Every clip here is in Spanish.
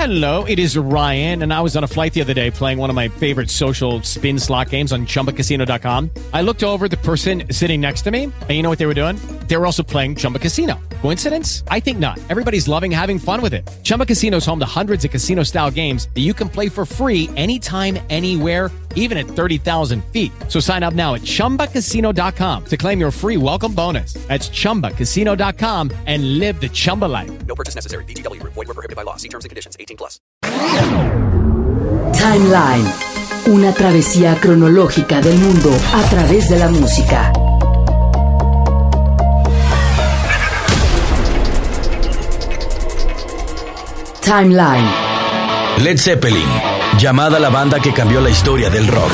Hello, it is Ryan, and I was on a flight the other day playing one of my favorite social spin slot games on ChumbaCasino.com. I looked over at the person sitting next to me, and you know what they were doing? They were also playing Chumba Casino. Coincidence? I think not. Everybody's loving having fun with it. Chumba Casino is home to hundreds of casino-style games that you can play for free anytime, anywhere, even at 30,000 feet. So sign up now at ChumbaCasino.com to claim your free welcome bonus. That's ChumbaCasino.com and live the Chumba life. No purchase necessary. VGW. Void where prohibited by law. See terms and conditions. 18+. Timeline. Una travesía cronológica del mundo a través de la música. Timeline. Led Zeppelin, llamada la banda que cambió la historia del rock.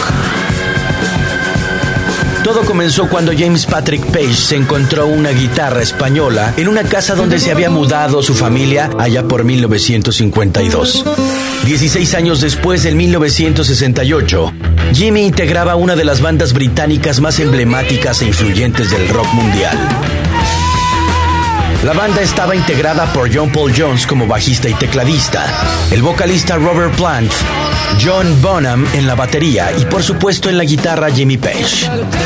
Todo comenzó cuando James Patrick Page se encontró una guitarra española en una casa donde se había mudado su familia allá por 1952. 16 años después, en 1968, Jimmy integraba una de las bandas británicas más emblemáticas e influyentes del rock mundial. La banda estaba integrada por John Paul Jones como bajista y tecladista, el vocalista Robert Plant, John Bonham en la batería y por supuesto en la guitarra Jimmy Page.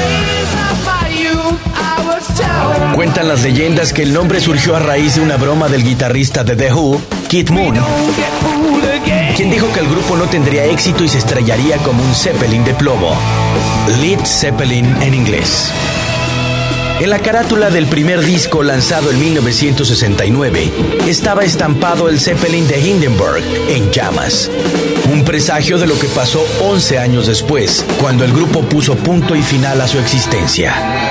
Cuentan las leyendas que el nombre surgió a raíz de una broma del guitarrista de The Who, Keith Moon, quien dijo que el grupo no tendría éxito y se estrellaría como un Zeppelin de plomo, Led Zeppelin en inglés. En la carátula del primer disco lanzado en 1969 estaba estampado el Zeppelin de Hindenburg en llamas. Un presagio de lo que pasó 11 años después, cuando el grupo puso punto y final a su existencia.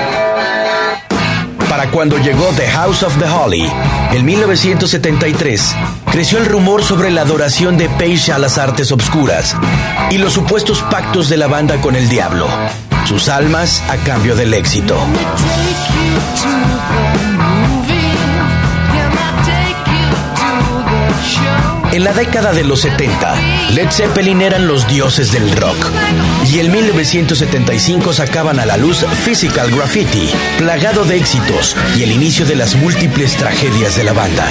Para cuando llegó The House of the Holy, en 1973, creció el rumor sobre la adoración de Page a las artes obscuras y los supuestos pactos de la banda con el diablo. Sus almas a cambio del éxito. En la década de los 70, Led Zeppelin eran los dioses del rock. Y en 1975 sacaban a la luz Physical Graffiti, plagado de éxitos y el inicio de las múltiples tragedias de la banda.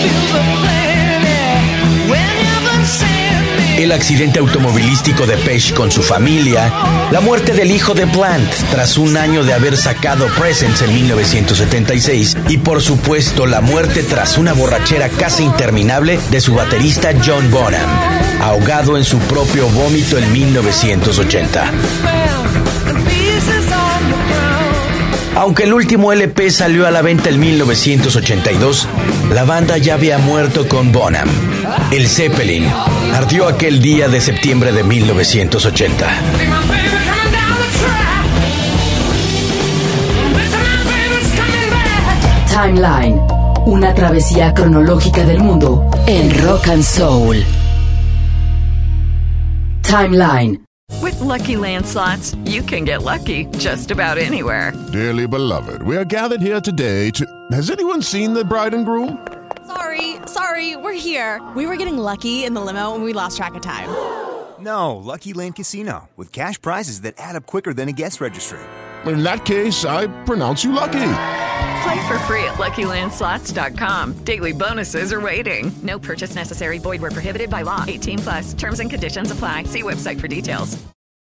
El accidente automovilístico de Page con su familia, la muerte del hijo de Plant tras un año de haber sacado Presence en 1976 y por supuesto la muerte tras una borrachera casi interminable de su baterista John Bonham, ahogado en su propio vómito en 1980. Aunque el último LP salió a la venta en 1982, la banda ya había muerto con Bonham. El Zeppelin ardió aquel día de septiembre de 1980. Timeline. Una travesía cronológica del mundo en rock and soul. Timeline. With Lucky Land Slots, you can get lucky just about anywhere. Dearly beloved, we are gathered here today to... Has anyone seen the bride and groom? Sorry, we're here. We were getting lucky in the limo and we lost track of time. No, Lucky Land Casino, with cash prizes that add up quicker than a guest registry. In that case, I pronounce you lucky. Play for free at LuckyLandSlots.com. Daily bonuses are waiting. No purchase necessary. Void where prohibited by law. 18+. Terms and conditions apply. See website for details.